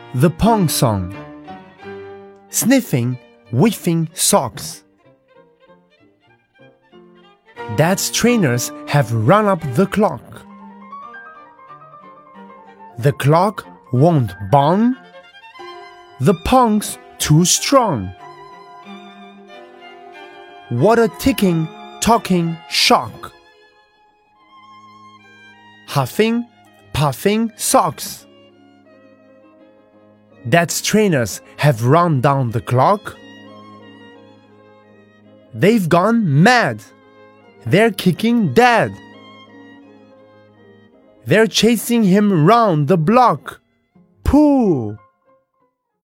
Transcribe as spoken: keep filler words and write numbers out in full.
The Pong Song. Sniffing, whiffing socks. Dad's trainers have run up the clock. The clock won't bong. The pong's too strong. What a ticking, talking shock. Huffing, puffing socks. Dad's trainers have run down the clock. They've gone mad. They're kicking Dad. They're chasing him round the block. Pooh!